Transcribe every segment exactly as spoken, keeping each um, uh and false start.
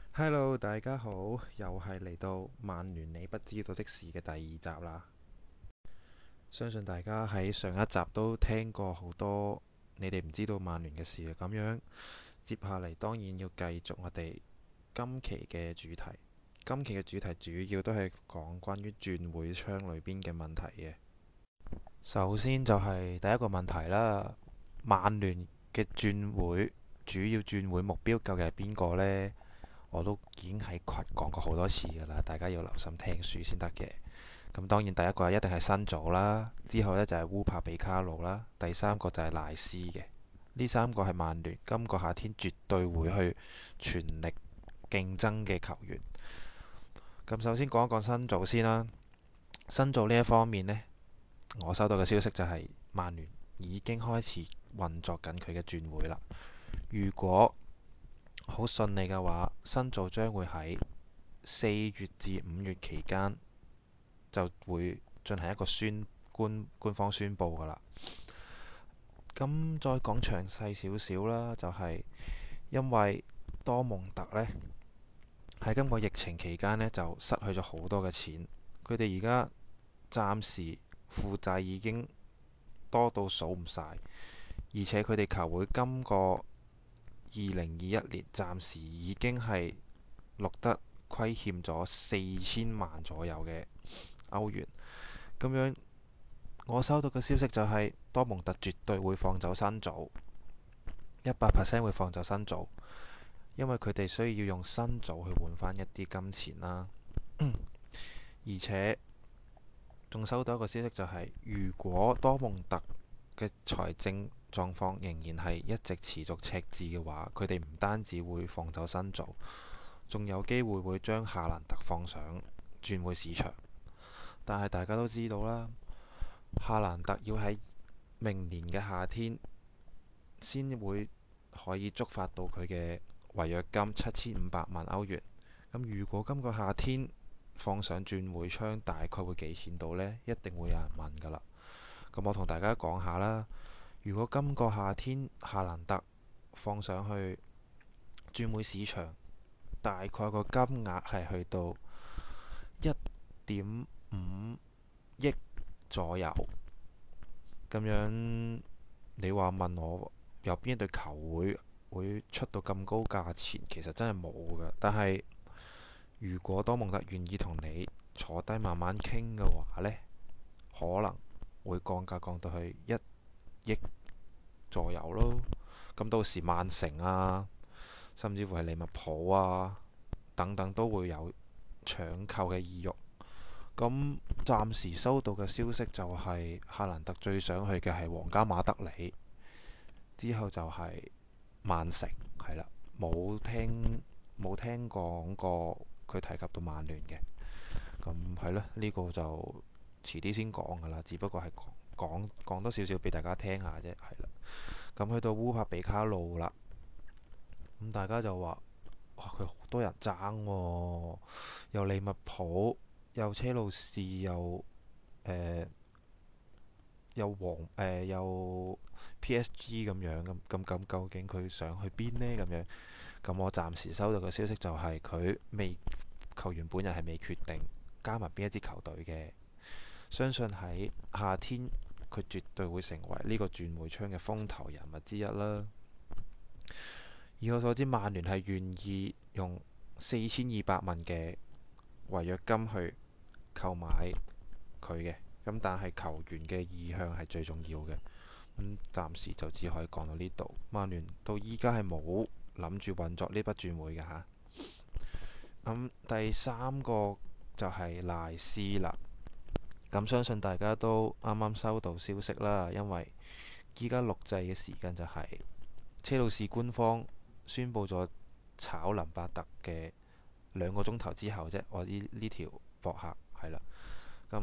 Hello，大家好，又係嚟到曼聯你不知道的事嘅第二集啦。相信大家喺上一集都聽過好多你哋唔知道曼聯嘅事嘅，咁樣接下嚟當然要繼續我哋今期嘅主題。今期嘅主題主要都係講關於轉會窗裏邊嘅問題嘅。首先就係第一個問題啦，曼聯嘅轉會主要轉會目標究竟係邊個呢？我都已經喺群講過好多次㗎啦，大家要留心聽書先得嘅。咁當然第一個一定係新組啦，之後呢就係烏帕比卡路啦，第三個就係賴斯嘅。呢三個係曼聯今個夏天絕對會去全力競爭嘅球員。咁首先講一講新組先啦。新組呢一方面呢，我收到嘅消息就係曼聯已經開始運作緊佢嘅轉會啦。如果好順利嘅話，新組將會喺四月至五月期間就會進行一個宣官官方宣佈噶啦。咁再講詳細少少啦，就係因為多蒙特呢喺今個疫情期間呢就失去咗好多嘅錢，佢哋而家暫時負債已經多到數唔晒，而且佢哋球會今個二零二一年暫時已經係錄得虧欠咗四千萬左右嘅歐元。咁樣我收到嘅消息就係多蒙特絕對會放走新組，一百 percent 會放走新組，因為佢哋需要用新組去換翻一啲金錢啦。而且仲收到一個消息就係，如果多蒙特嘅財政狀況仍然係一直持續赤字嘅話，佢哋唔單止會放走新組，仲有機會會將夏蘭特放上轉會市場。但係大家都知道啦，夏蘭特要喺明年嘅夏天先會可以觸發到佢嘅違約金七千五百萬歐元。咁如果今個夏天放上轉會窗，大概會幾錢到呢？一定會有人問㗎啦。咁我同大家講下啦。如果今個夏天夏蘭特放上去轉會市場，大概個金額係去到一點五億左右。咁樣你話問我有邊一隊球會會出到咁高價錢？其實真係冇㗎。但係如果多蒙特願意同你坐低慢慢傾嘅話呢，可能會降價降到去一億左右咯。咁到時曼城啊，甚至乎係利物浦啊等等都會有搶購嘅意欲。咁暫時收到嘅消息就係夏蘭特最想去嘅係皇家馬德里，之後就係曼城，係啦，冇聽冇聽講過佢提及到曼聯嘅。咁係咯，呢個就遲啲先講噶啦，只不過係講講講多少少俾大家聽下啫，係啦。咁去到烏帕比卡路啦，咁大家就話哇，佢好多人爭喎，又利物浦，又車路士，又誒又黃誒又 P S G 咁樣咁咁咁，究竟佢想去邊呢？咁樣咁我暫時收到嘅消息就係佢未球員本人係未決定加埋邊一支球隊嘅。相信喺夏天佢絕對會成為呢個轉會窗嘅風頭人物之一啦。以我所知，曼聯係願意用四千二百萬嘅違約金去購買佢嘅。咁但係球員嘅意向係最重要嘅。咁暫時就只可以講到呢度。曼聯到依家係冇諗住運作呢筆轉會嘅嚇。咁第三個就係賴斯啦。咁相信大家都啱啱收到消息啦，因為依家錄製嘅時間就係車路士官方宣布咗炒林伯特嘅兩個鐘頭之後啫。我呢呢條博客係啦。咁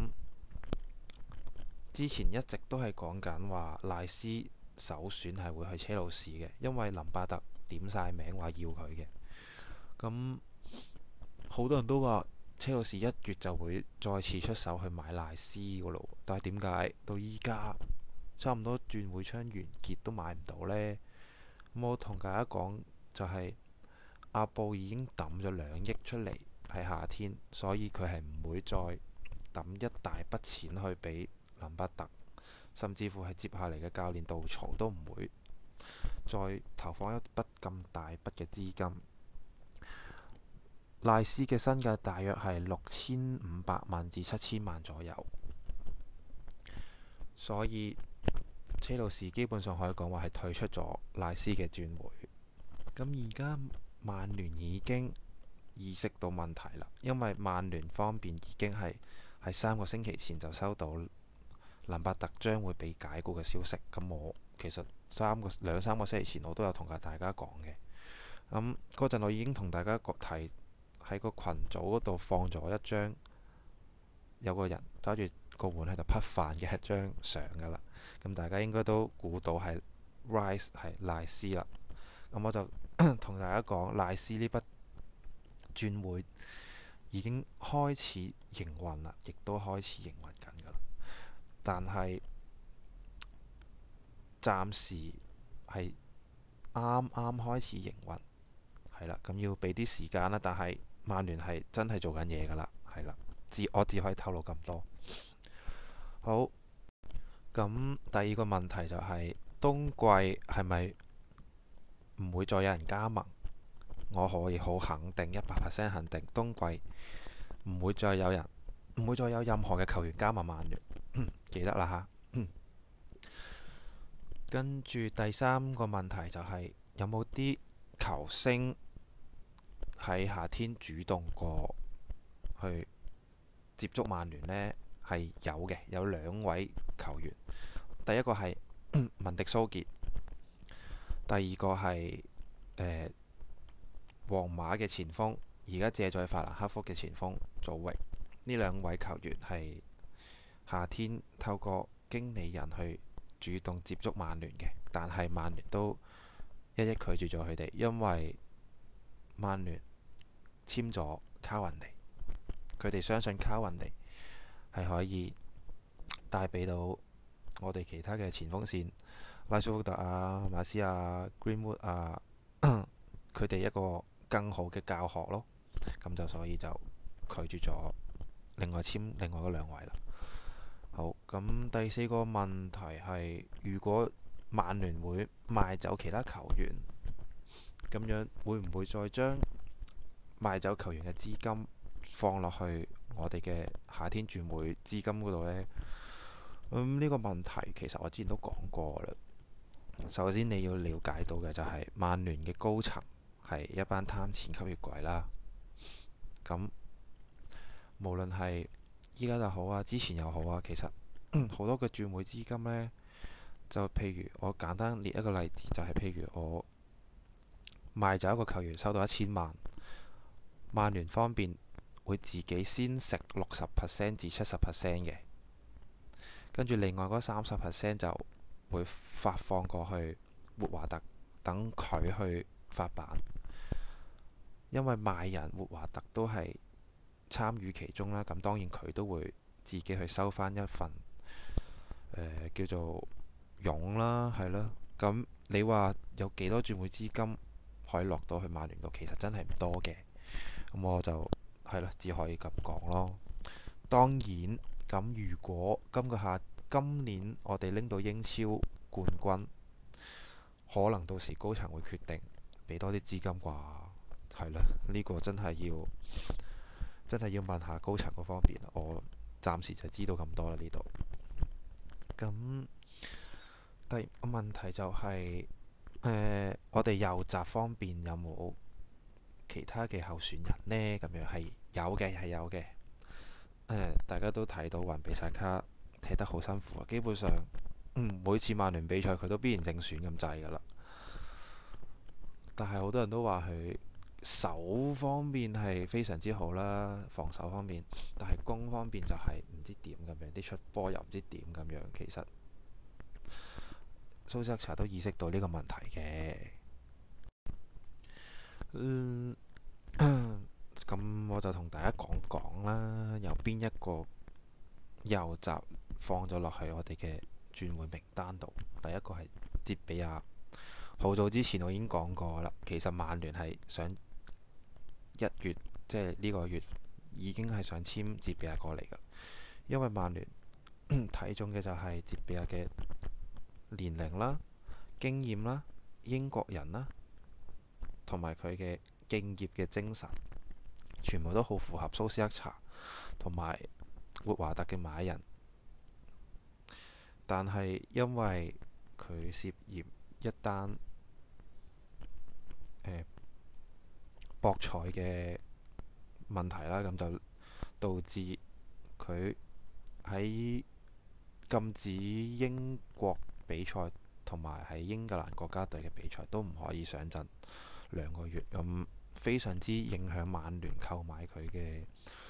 之前一直都係講緊話賴斯首選係會去車路士嘅，因為林伯特點晒名話要佢嘅。咁好多人都話車路士一月就會再次出手去買賴斯噶咯，但係點解到依家差唔多轉會窗完結都買唔到呢？咁我同大家講就係阿布已經抌咗兩億出嚟喺夏天，所以佢係唔會再抌一大筆錢去俾林伯特，甚至乎係接下嚟嘅教練杜曹都唔會再投放一筆咁大筆嘅資金。賴斯嘅身價大約係六千五百萬至七千萬左右，所以車路士基本上可以講話係退出咗賴斯嘅轉會。咁而家曼聯已經意識到問題啦，因為曼聯方面已經係喺三個星期前就收到林伯特將會被解雇嘅消息。咁我其實三個兩三個星期前我都有同大家講嘅。咁嗰陣我已經同大家提喺個群組嗰度放咗一張有個人揸住個碗喺度匹飯嘅一張相㗎啦。咁大家應該都估到係 Rice 係賴斯啦。咁我就同大家講，賴斯呢筆轉會已經開始營運啦，亦都開始營運緊㗎啦。但係暫時係啱啱開始營運，係啦。咁要俾啲時間啦。但係曼聯係真係做緊嘢㗎啦，係啦。只我只可以透露咁多。好，咁第二個問題就係、是、冬季係咪唔會再有人加盟？我可以好肯定，一百 percent 肯定，冬季唔會再有人，唔會再有任何嘅球員加盟曼聯。記得啦嚇。跟住第三個問題就係、是、有冇啲球星喺夏天主動過去接觸曼聯呢？係有嘅，有兩位球員。第一個係文迪蘇傑，第二個係誒皇馬嘅前鋒，而家借在法蘭克福嘅前鋒祖域。呢兩位球員係夏天透過經理人去主動接觸曼聯嘅，但係曼聯都一一拒絕咗佢哋，因為曼聯簽咗卡雲尼，佢哋相信卡雲尼係可以帶俾到我哋其他嘅前鋒線，拉舒福特啊、馬斯亞、Greenwood 啊，佢哋一個更好嘅教學咯。咁就所以就拒絕咗另外簽另外嗰兩位啦。好，咁第四個問題係，如果曼聯會賣走其他球員，咁樣會唔會再將賣走球員嘅資金放落去我哋嘅夏天轉會資金嗰度呢？咁、嗯、呢、呢個問題其實我之前都講過啦。首先你要了解到嘅就係曼聯嘅高層係一班貪錢吸血鬼啦。咁無論係依家就好啊，之前又好啊，其實好多嘅轉會資金呢，就譬如我簡單列一個例子，就係、是、譬如我賣走一個球員收到一千萬，曼聯方面會自己先食六十 percent 至七十 percent 嘅，跟住另外嗰三十 percent 就會發放過去活華特，等佢去發版。因為賣人活華特都係參與其中啦，咁當然佢都會自己去收翻一份、呃、叫做傭啦，係咯。咁你話有幾多轉會資金可以落到去曼聯度？其實真係唔多嘅。咁我就係咯，只可以咁講咯。當然，咁如果今個夏今年我哋拎到英超冠軍，可能到時高層會決定俾多啲資金啩。係啦，呢、呢個真係要真係要問下高層嗰方面。我暫時就知道咁多啦呢度。咁第二個問題就係、是呃、我哋右閘方面有冇其他嘅候選人呢？咁樣係有嘅，係有嘅、呃。大家都睇到雲比薩卡踢得好辛苦啊，基本上、嗯、每次曼聯比賽佢都必然正選咁滯㗎啦。但係好多人都話佢守方面係非常之好啦，防守方面，但係攻方面就係唔知點咁樣，啲出波又唔知點咁樣。其實蘇斯查都意識到呢個問題嘅。嗯，咁我就同大家講講啦，有邊一個右閘放咗落去我哋嘅轉會名單度。第一個係哲比亞，好早之前我已經講過啦。其實曼聯係想一月即係呢個月已經係想簽哲比亞過嚟㗎，因為曼聯睇中嘅就係哲比亞嘅年齡啦、經驗啦、英國人啦，同埋佢嘅敬業嘅精神，全部都好符合蘇斯克查同埋活華特嘅買人。但係因為佢涉嫌一單誒博彩嘅問題啦，咁就導致佢喺禁止英國比賽同埋喺英格蘭國家隊嘅比賽都唔可以上陣兩個月，咁非常之影響曼聯購買佢嘅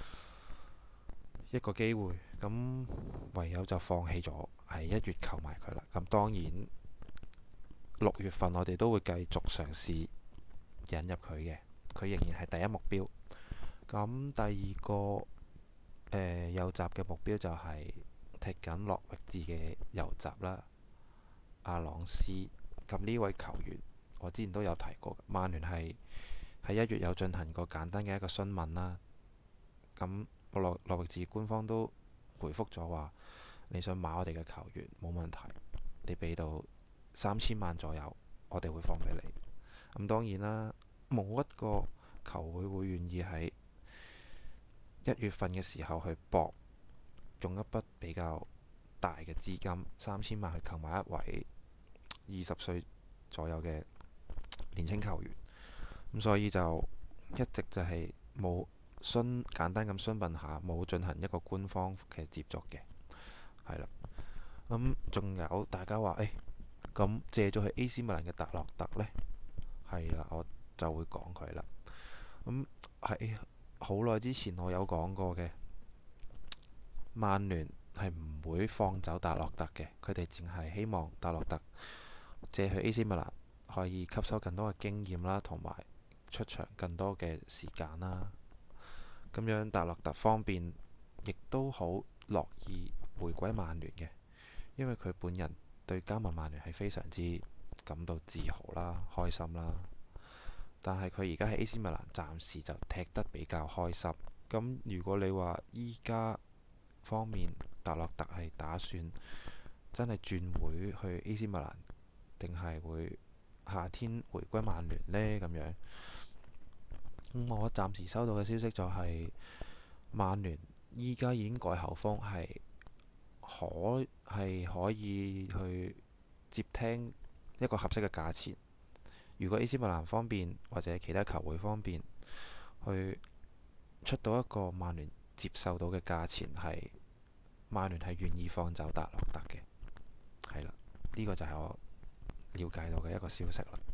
一個機會，咁唯有就放棄咗喺一月購買佢啦。咁當然六月份我哋都會繼續嘗試引入佢嘅，佢仍然係第一目標。咁第二個誒、呃、右閘嘅目標就係踢緊諾域治嘅右閘啦，阿朗斯。咁呢位球員我之前都有提過，曼聯係喺一月有進行過簡單嘅一個詢問啦。咁諾諾域治官方都回覆咗話，你想買我哋嘅球員冇問題，你俾到三千萬左右，我哋會放俾你。咁當然啦，冇一個球會會願意喺一月份嘅時候去搏，用一筆比較大嘅資金三千萬去購買一位二十歲左右嘅年輕球員。咁所以就一直就係冇詢簡單咁詢問下，冇進行一個官方嘅接觸嘅，係啦。咁仲有大家話誒，咁借咗去 A C 米蘭嘅達洛特呢？係啦，我就會講佢啦。咁喺好耐之前我有講過嘅，曼聯係唔會放走達洛特嘅，佢哋淨係希望達洛特借去 A C 米蘭可以吸收更多嘅經驗啦，同埋出場更多嘅時間啦。咁樣達洛特方面亦都好樂意回歸曼聯嘅，因為佢本人對加盟曼聯係非常之感到自豪啦、開心啦。但係佢而家喺 A C 米蘭暫時就踢得比較開心。咁如果你話依家方面達洛特係打算真係轉會去 A C 米蘭，定係會夏天回歸曼聯呢？咁樣，咁我暫時收到嘅消息就係曼聯依家已經改口風，係可係可以去接聽一個合適嘅價錢。如果 A C 米蘭方面或者其他球會方面去出到一個曼聯接受到嘅價錢，係曼聯係願意放走達洛特嘅，係啦，呢個就係我了解到嘅一個消息啦。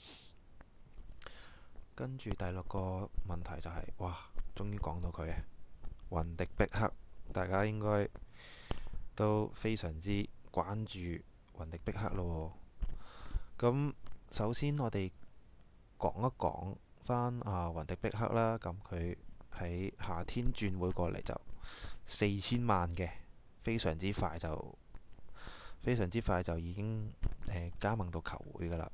跟住第六個問題就係、是，哇，終於講到佢啊，雲迪碧克，大家應該都非常之關注雲迪碧克咯。咁首先我哋講一講翻啊雲迪碧克啦，咁佢喺夏天轉會過嚟就四千萬嘅，非常之快就非常之快就已經誒、呃、加盟到球會噶啦。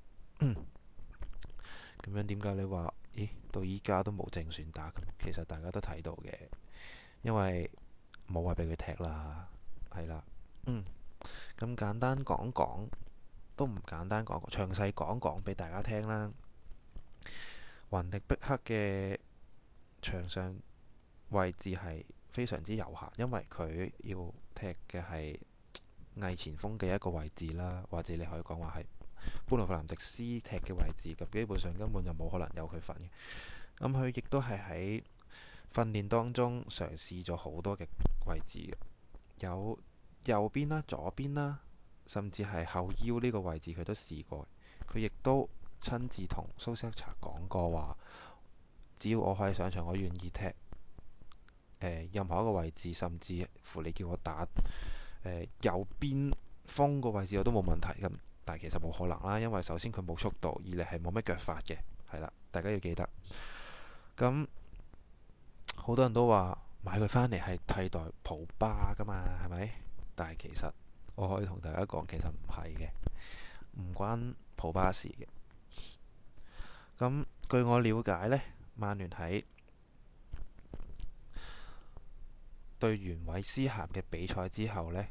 咁樣點解你話，咦，到依家都冇正選打？咁其實大家都睇到嘅，因為冇位俾佢踢啦，係啦。嗯，咁簡單講講。都唔簡單講，詳細講講俾大家聽啦。雲迪碧克嘅場上位置係非常之有限，因為佢要踢嘅係偽前鋒嘅一個位置啦，或者你可以講話係般奴費南迪斯踢嘅位置，咁基本上根本就冇可能有佢份嘅。咁佢亦都係喺訓練當中嘗試咗好多嘅位置嘅，有右邊啦、左邊啦，甚至係後腰呢個位置佢都試過。佢亦都親自同蘇斯克查講過話，只要我可以上場，我願意踢、呃、任何一個位置，甚至乎你叫我打、呃、右邊鋒個位置我都冇問題。咁但係其實冇可能啦，因為首先佢冇速度，二嚟係冇乜腳法嘅，係啦，大家要記得。咁好多人都話買佢返嚟係替代普巴㗎嘛，係咪？但係其實我可以同大家講，其實唔係嘅，唔關普巴事嘅。咁據我了解呢， 曼聯喺對完韋斯咸嘅比賽之後呢，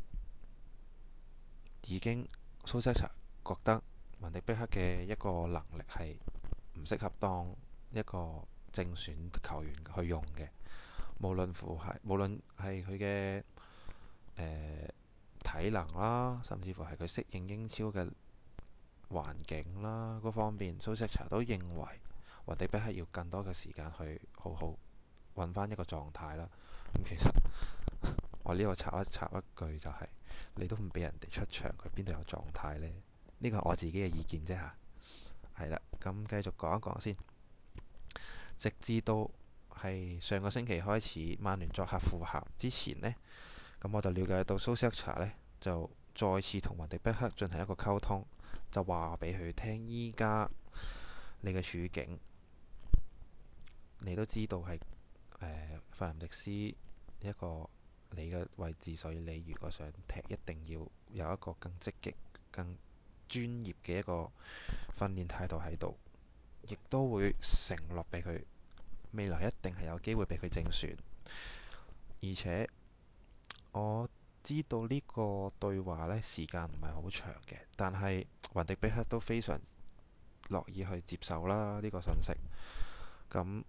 已經蘇斯查覺得雲迪碧克嘅一個能力係唔適合當一個正選球員去用嘅。無論乎係無論係佢嘅誒體能啦，甚至乎係佢適應英超嘅環境啦嗰方面，蘇斯查都認為雲迪碧克要更多嘅時間去好好揾翻一個狀態啦。咁其實我呢度插一插一句就係、是，你都唔俾人哋出場，佢邊度有狀態呢？呢個係我自己嘅意見啫嚇。係啦，咁繼續講一講先。直至到係上個星期開始，曼聯作客富咸之前呢，咁我就了解到蘇斯查呢就再次同雲迪碧克進行一個溝通，就話俾佢聽依家你嘅處境，你都知道係誒費蘭迪斯一個你嘅位置，所以你如果想踢，一定要有一個更積極、更專業嘅一個訓練態度喺度，亦都會承諾俾佢未來一定係有機會俾佢正選。而且我知道呢個對話呢時間唔係好長嘅，但係雲迪碧克都非常樂意去接受啦呢個信息。咁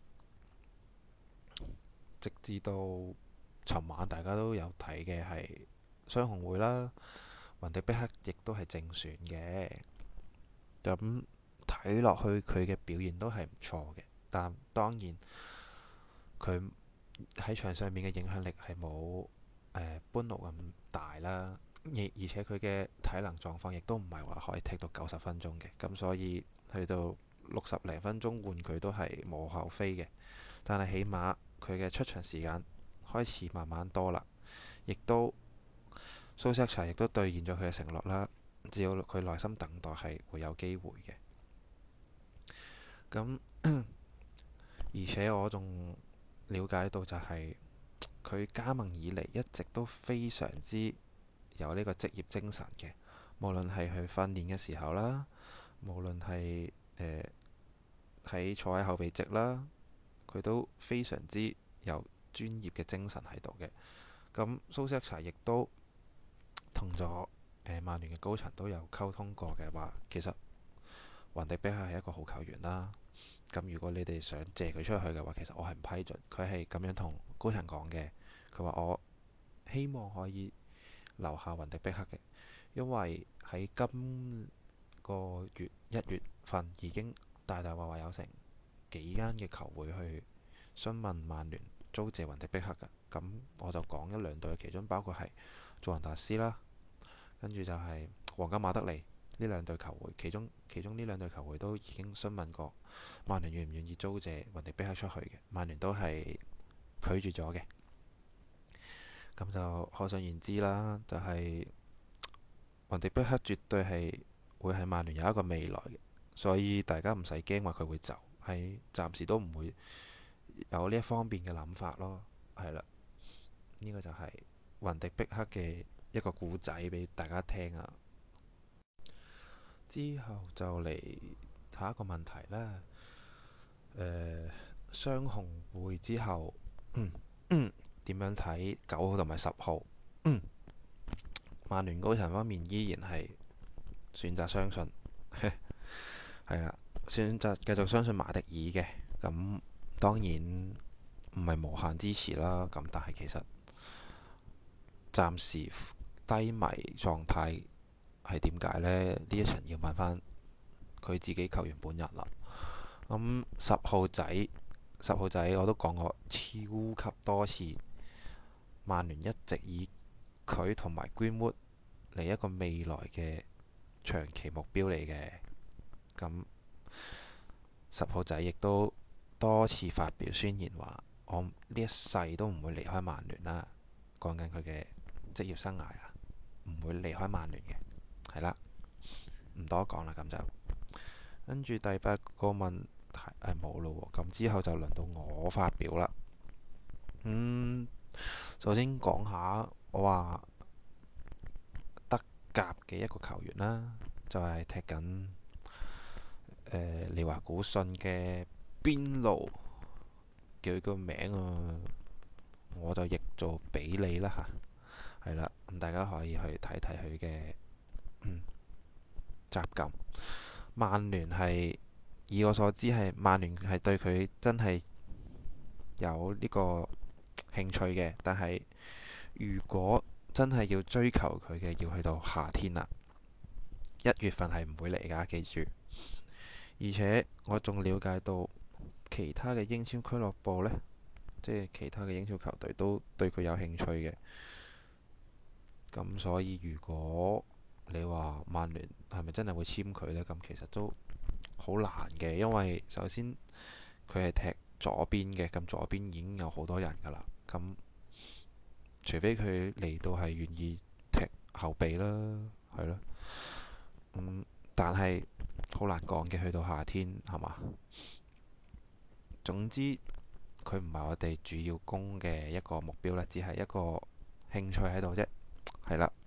直至到尋晚大家都有睇嘅係雙紅會啦，雲迪碧克亦都係正選嘅。咁睇落去佢嘅表現都係唔錯嘅，但當然佢喺場上面嘅影響力係冇誒班奴咁大啦，而而且佢嘅體能狀況亦都唔係話可以踢到九十分鐘嘅，咁所以去到六十零分鐘換佢都係無可厚非嘅。但係起碼佢嘅出場時間開始慢慢多啦，亦都蘇斯查亦都兌現咗佢嘅承諾啦。只要佢耐心等待，係會有機會嘅。咁而且我仲了解到就係、是、佢加盟以嚟一直都非常之有呢個職業精神嘅，無論係去訓練嘅時候啦，無論係誒喺坐喺後備席啦，佢都非常之有專業嘅精神喺度嘅。咁蘇斯查亦都同咗誒曼聯嘅高層都有溝通過嘅話，其實雲迪碧克係一個好球員啦。咁如果你哋想借佢出去嘅話，其實我係唔批准。佢係咁樣同高層講嘅。佢話我希望可以留下雲迪碧克嘅，因為喺今個月一月份已經大大話話有成幾間嘅球會去詢問曼聯租借雲迪碧克嘅。咁我就講一兩隊，其中包括係祖雲達斯啦，跟住就係皇家馬德里呢兩隊球會，其中其中呢兩隊球會都已經詢問過曼聯願唔願意租借雲迪碧克出去嘅，曼聯都係拒絕咗嘅。咁就可想而知啦，就係、是、雲迪碧克絕對係會喺曼聯有一個未來嘅，所以大家唔使驚話佢會走，係暫時都唔會有呢一方面嘅諗法咯。係啦，呢、這個就係雲迪碧克嘅一個故仔俾大家聽啊。之後就嚟下一個問題啦。誒、呃，雙紅會之後，嗯嗯，點樣睇九號同埋十號？嗯，曼聯高層方面依然係選擇相信，係啦，選擇繼續相信馬迪爾嘅。咁當然唔係無限支持啦。咁但係其實暫時低迷狀態。係點解呢？呢一場要問翻佢自己球員本人啦。咁十號仔，十號仔我都講過超級多次，曼聯一直以佢同埋 Greenwood 嚟一個未來嘅長期目標嚟嘅。咁十號仔亦都多次發表宣言話：我呢一世都唔會離開曼聯啦。講緊佢嘅職業生涯啊，唔會離開曼聯嘅。係啦，唔多講啦，咁就跟住第八個問題誒冇咯喎，咁之後就輪到我發表啦。嗯，首先講下我話德甲嘅一個球員啦，就係、是、踢緊誒利華古信嘅邊路叫佢個名啊，我就譯做比利啦嚇，係啦，咁大家可以去睇睇佢嘅集錦。曼聯係以我所知係曼聯係對佢真係有呢個興趣嘅，但係如果真係要追求佢嘅，要去到夏天啦，一月份係唔會嚟㗎，記住。而且我仲了解到其他嘅英超俱樂部呢，即係其他嘅英超球隊都對佢有興趣嘅。咁所以如果你話曼聯係咪真係會簽佢呢？咁其實都好難嘅，因為首先佢係踢左邊嘅，咁左邊已經有好多人㗎啦。咁除非佢嚟到係願意踢後備啦，係咯。嗯，但係好難講嘅，去到夏天係嘛？總之佢唔係我哋主要攻嘅一個目標啦，只係一個興趣喺度啫。係啦，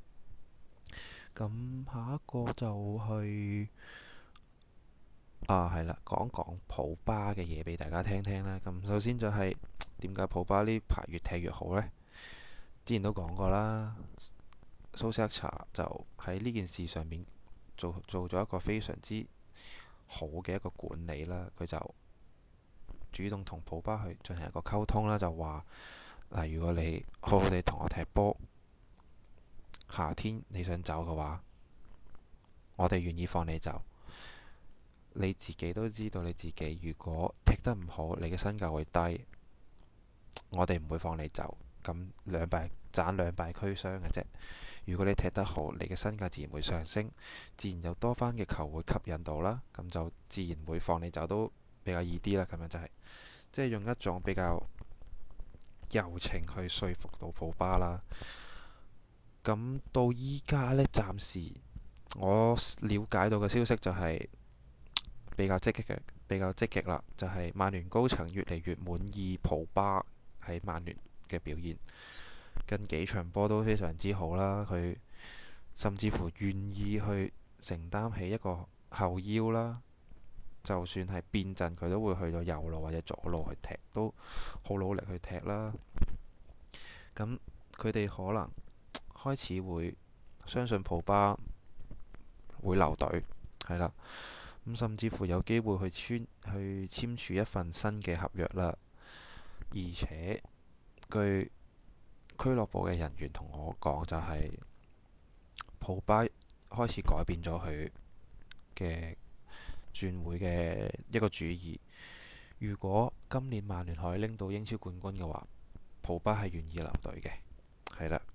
咁下一個就係、啊係啦，講講普巴嘅嘢俾大家聽聽啦。咁首先就係點解普巴呢排越踢越好呢？之前都講過啦，蘇斯克查就喺呢件事上面做做咗一個非常之好嘅一個管理啦。佢就主動同普巴去進行一個溝通啦，就話嗱，如果你好好地同我踢波，夏天你想走嘅話，我哋願意放你走。你自己都知道，你自己如果踢得唔好，你嘅身價會低，我哋唔會放你走。咁兩敗賺兩敗俱傷嘅啫。如果你踢得好，你嘅身價自然會上升，自然有多番嘅球會吸引到啦，咁就自然會放你走都比較易啲啦。咁樣就係即係用一種比較柔情去說服到普巴啦。咁到依家呢，暫時我了解到嘅消息就係比較積極嘅，比較積極啦。就係曼聯高層越嚟越滿意普巴喺曼聯嘅表現，近幾場波都非常之好啦。佢甚至乎願意去承擔起一個後腰啦，就算係變陣，佢都會去到右路或者左路去踢，都好努力去踢啦。咁佢哋可能開始會相信普巴會留隊，係啦。咁甚至乎有機會去簽去簽署一份新嘅合約啦。而且據俱樂部嘅人員同我講，就係普巴開始改變咗佢嘅轉會嘅一個主意。如果今年曼聯可以拎到英超冠軍嘅話，普巴係願意留隊嘅，係啦。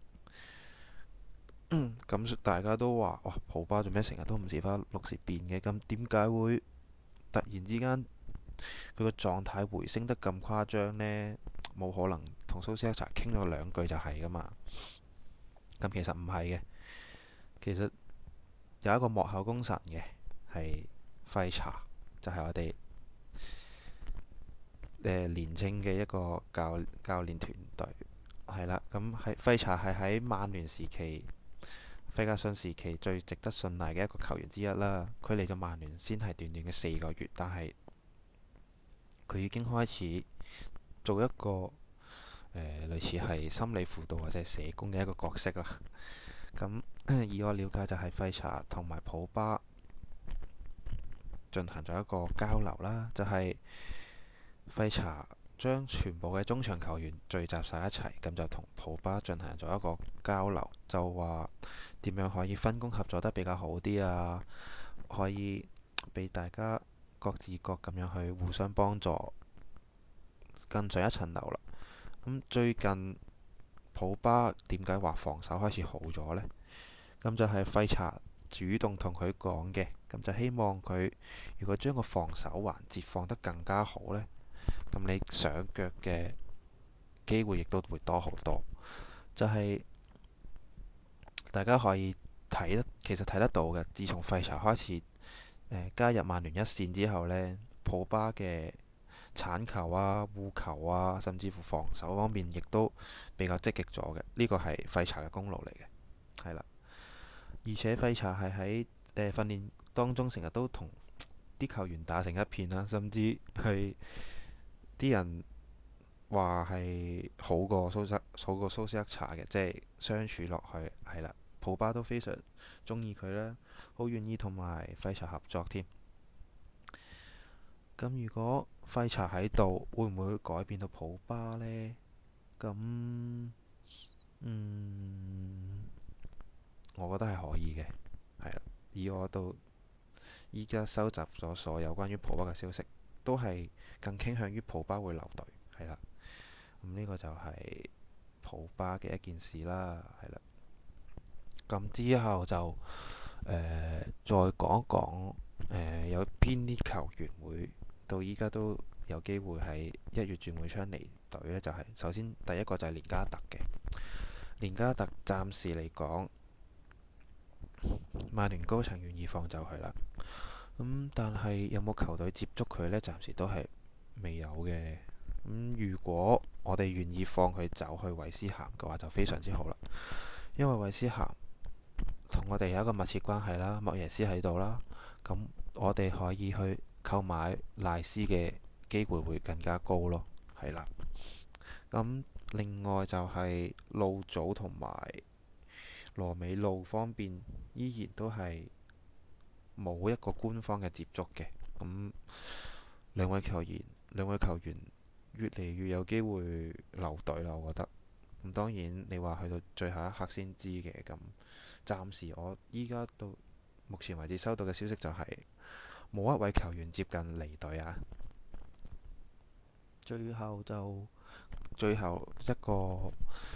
咁大家都話哇，普巴做咩成日都唔時花六時變嘅？咁點解會突然之間佢個狀態回升得咁誇張呢？冇可能同蘇斯克查傾咗兩句就係噶嘛？咁其實唔係嘅，其實有一個幕後功臣嘅係費查，就係、是、我哋誒、呃、年青嘅一個教教練團隊係啦。咁係費查係喺曼聯時期，費格遜時期最值得信賴嘅一個球員之一啦。佢嚟咗曼聯先係短短嘅四個月，但係佢已經開始做一個誒、呃、類似係心理輔導或者社工嘅一個角色啦。咁以我了解就係費查同埋普巴進行咗一個交流啦，就係、是、費查將全部嘅中場球員聚集晒一齊，咁就同普巴進行咗一個交流，就話點樣可以分工合作得比較好啲啊，可以俾大家各自各咁樣去互相幫助，更上一層樓啦。咁最近普巴點解話防守開始好咗呢？咁就係費查主動同佢講嘅，咁就希望佢如果將個防守環節放得更加好呢，咁你上腳嘅機會亦都會多好多。就係、是、大家可以睇得，其實睇得到嘅。自從費查開始、呃、加入曼聯一線之後呢，普巴嘅鏟球啊、護球啊，甚至乎防守方面，亦都比較積極咗嘅。呢個係費查嘅功勞嚟嘅，係啦。而且費查係喺誒訓練當中成日都同啲球員打成一片啦，甚至係啲人話係好過蘇塞好過蘇斯克查嘅，即係相處落去係啦。普巴都非常中意佢啦，好願意同埋費查合作添。咁如果費查喺度，會唔會改變到普巴呢？咁嗯，我覺得係可以嘅，係啦。以我到依家收集咗所有關於普巴嘅消息，都係更傾向於普巴會留隊，係啦。咁呢個就係普巴嘅一件事啦，係啦。咁之後就誒、呃、再講一講誒、呃、有邊啲球員會到依家都有機會喺一月轉會窗離隊呢？就係、是、首先第一個就係連加特嘅。連加特暫時嚟講，曼聯高層願意放走佢啦。咁、嗯、但係有冇球隊接觸佢呢？暫時都係未有嘅。咁、嗯、如果我哋願意放佢走去韋斯咸嘅話，就非常之好啦。因為韋斯咸同我哋有一個密切關係啦，莫耶斯喺度啦，咁我哋可以去購買賴斯嘅機會會更加高咯，係啦。咁另外就係路祖同埋羅美路方面，依然都係冇一個官方嘅接觸嘅。咁兩位球員，兩位球員越嚟越有機會留隊啦，我覺得。咁當然你話去到最後一刻先知嘅，咁暫時我依家到目前為止收到嘅消息就係冇一位球員接近離隊啊。最後就最後一個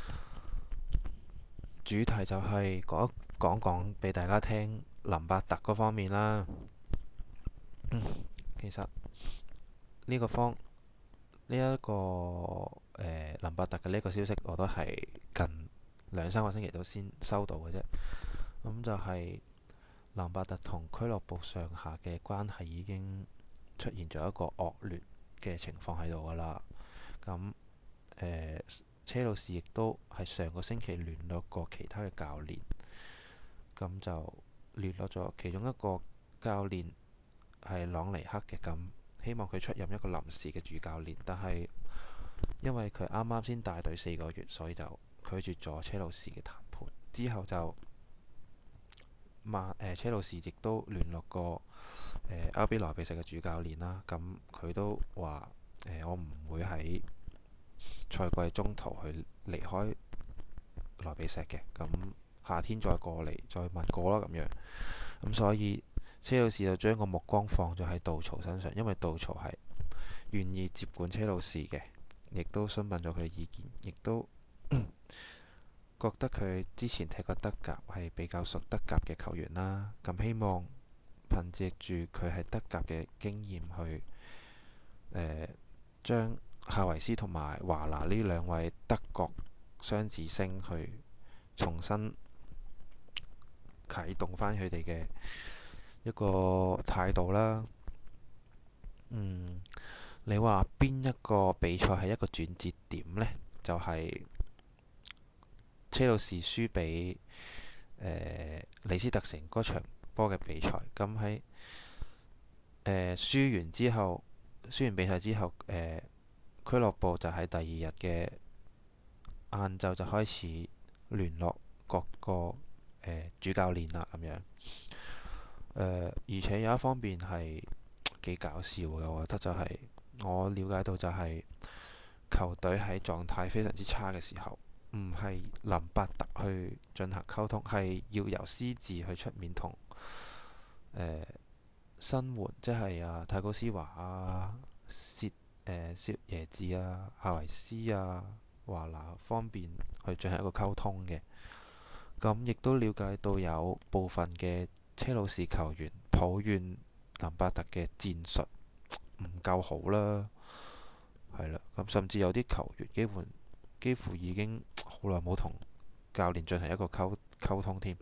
主題就係講一講講俾大家聽林伯特嗰方面啦。嗯，其實呢個方呢一個誒、呃、林伯特嘅呢個消息，我都係近兩三個星期都先收到嘅啫。咁就係林伯特同俱樂部上下嘅關係已經出現咗一個惡劣嘅情況喺度噶啦。咁誒、呃、車路士亦都係上個星期聯絡過其他嘅教練，咁就聯絡咗其中一個教練係朗尼克嘅，咁希望佢出任一個臨時嘅主教練，但係因為佢啱啱先帶隊四個月，所以就拒絕咗車路士嘅談判。之後就曼誒、呃、車路士亦都聯絡過誒 R B 萊比錫嘅主教練啦，咁佢都話誒、呃、我唔會喺賽季中途去離開萊比錫嘅，咁夏天再過嚟再問過啦咁樣。咁所以車路士就將個目光放咗喺杜曹身上，因為杜曹係願意接管車路士嘅，亦都詢問咗佢嘅意見，亦都覺得佢之前踢過德甲係比較熟德甲嘅球員啦。咁希望憑藉住佢係德甲嘅經驗去誒將夏維斯同埋華拿呢兩位德國雙子星去重新啟動翻佢哋嘅一個態度啦。嗯，你話邊一個比賽係一個轉折點呢？就係、是、車路士輸俾誒李斯特城嗰場波嘅比賽。咁喺誒輸完之後，輸完比賽之後，誒、呃、俱樂部就喺第二日嘅晏晝就開始聯絡各個誒、呃、主教練啦，咁樣。呃、而且有一方面係幾搞笑嘅，我覺得就係、是、我了解到就係球隊喺狀態非常之差嘅時候，唔係林伯特去進行溝通，係要由斯治去出面同誒新援，即係啊泰高斯華啊、薛誒薛耶治啊、夏維斯啊、華拿方面去進行一個溝通嘅。咁亦都了解到有部分嘅車路士球員抱怨林伯特嘅戰術唔夠好啦，係啦。咁甚至有啲球員幾乎幾乎已經好耐冇同教練進行一個溝溝通添。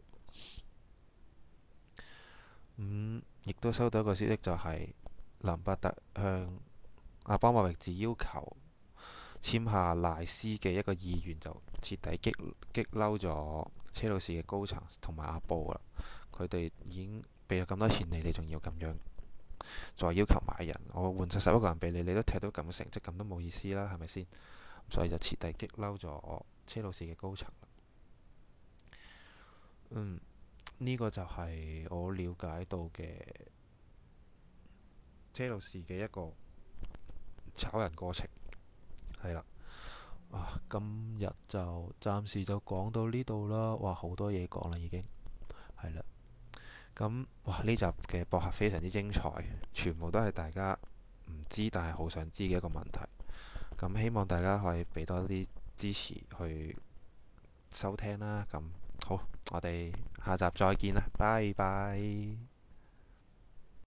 咁亦都收到一個消息，就係林伯特向阿巴莫域治要求簽下賴斯嘅一個意願，就徹底激激嬲咗車路士嘅高層同埋阿布啦。佢哋已經俾咗咁多錢你，你仲要咁樣再要求買人，我換晒十一個人俾你，你都踢到咁嘅成績，咁都冇意思啦，係咪先？所以就徹底激嬲咗我車路士嘅高層。嗯，呢、個就係我了解到嘅車路士嘅一個炒人過程，係啦。啊，今日就暫時就講到呢度啦。哇，好多嘢講啦，已經係啦。咁哇，呢集嘅博客非常之精彩，全部都係大家唔知但係好想知嘅一個問題。咁希望大家可以俾多啲支持去收聽啦。咁好，我哋下集再見啦，拜拜。